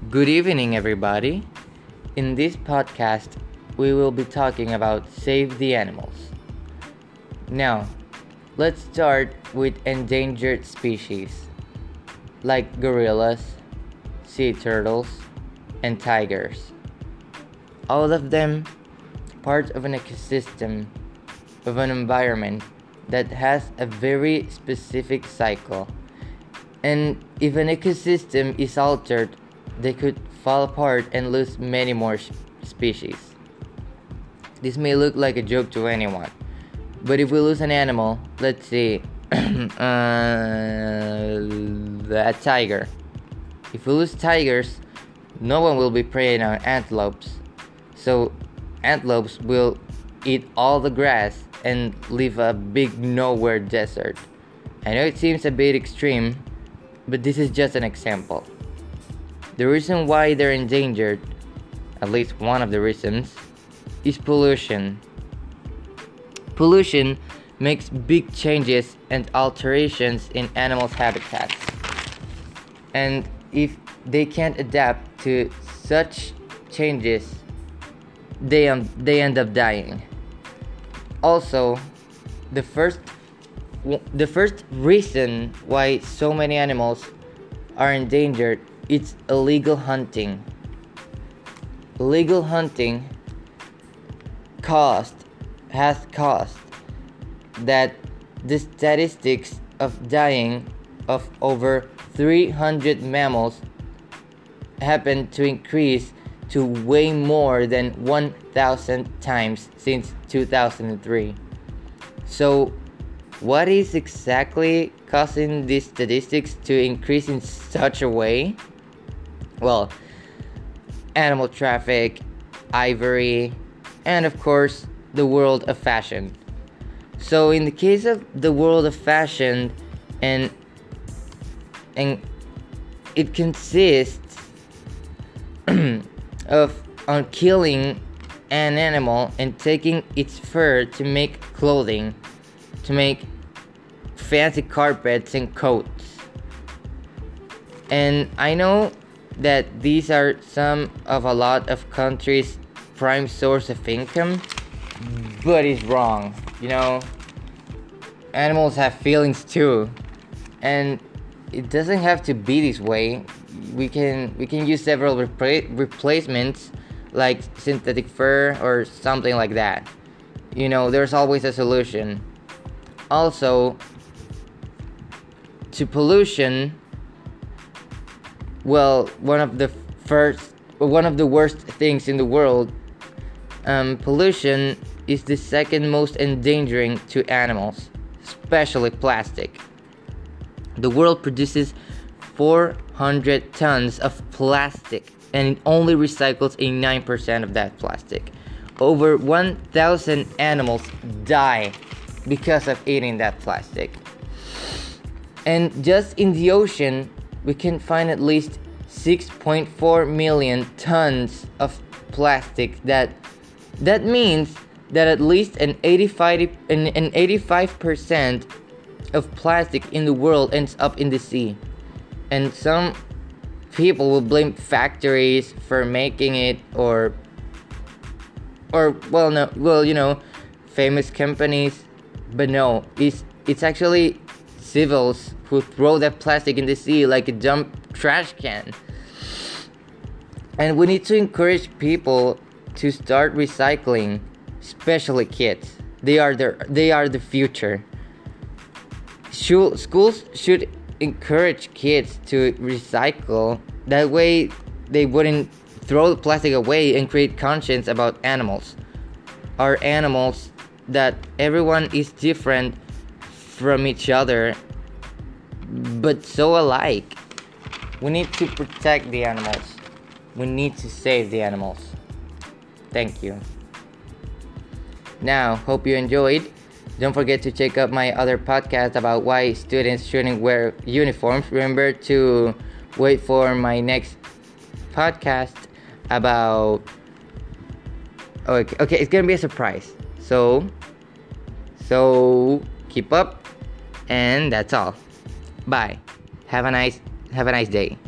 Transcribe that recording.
Good evening, everybody. In this podcast, we will be talking about Save the Animals. Now, let's start with endangered species like gorillas, sea turtles, and tigers. All of them part of an ecosystem, of an environment that has a very specific cycle. And if an ecosystem is altered, they could fall apart and lose many more species. This may look like a joke to anyone, but if we lose an animal, let's say a tiger. If we lose tigers, no one will be preying on antelopes. So antelopes will eat all the grass and leave a big nowhere desert. I know it seems a bit extreme, but this is just an example. The reason why they're endangered, at least one of the reasons, is pollution. Pollution makes big changes and alterations in animals' habitats. And if they can't adapt to such changes, they end up dying. Also, the first reason why so many animals are endangered, it's illegal hunting. Illegal hunting has caused that the statistics of dying of over 300 mammals happen to increase to way more than 1,000 times since 2003. So, what is exactly causing these statistics to increase in such a way? Well, animal traffic, ivory, and of course, the world of fashion. So in the case of the world of fashion, and it consists of on killing an animal and taking its fur to make clothing, to make fancy carpets and coats. And I know that these are some of a lot of countries' prime source of income, but it's wrong. Animals have feelings too, and it doesn't have to be this way. We can use several replacements like synthetic fur or something like that. There's always a solution. Also, to pollution, well, one of the worst things in the world, pollution is the second most endangering to animals, especially plastic. The world produces 400 tons of plastic, and it only recycles 9% of that plastic. Over 1,000 animals die because of eating that plastic. And just in the ocean, we can find at least 6.4 million tons of plastic. That means that at least an 85% of plastic in the world ends up in the sea. And some people will blame factories for making it, or famous companies, but no, it's actually civils who throw that plastic in the sea like a dumb trash can. And we need to encourage people to start recycling, especially kids. They are the future. Schools should encourage kids to recycle. That way they wouldn't throw the plastic away and create conscience about animals. Our animals, that everyone is different from each other, but so alike. We need to protect the animals. We need to save the animals. Thank you. Now, hope you enjoyed. Don't forget to check out my other podcast about why students shouldn't wear uniforms. Remember to wait for my next podcast about... Okay, it's gonna be a surprise. So keep up, and that's all. Bye. Have a nice day.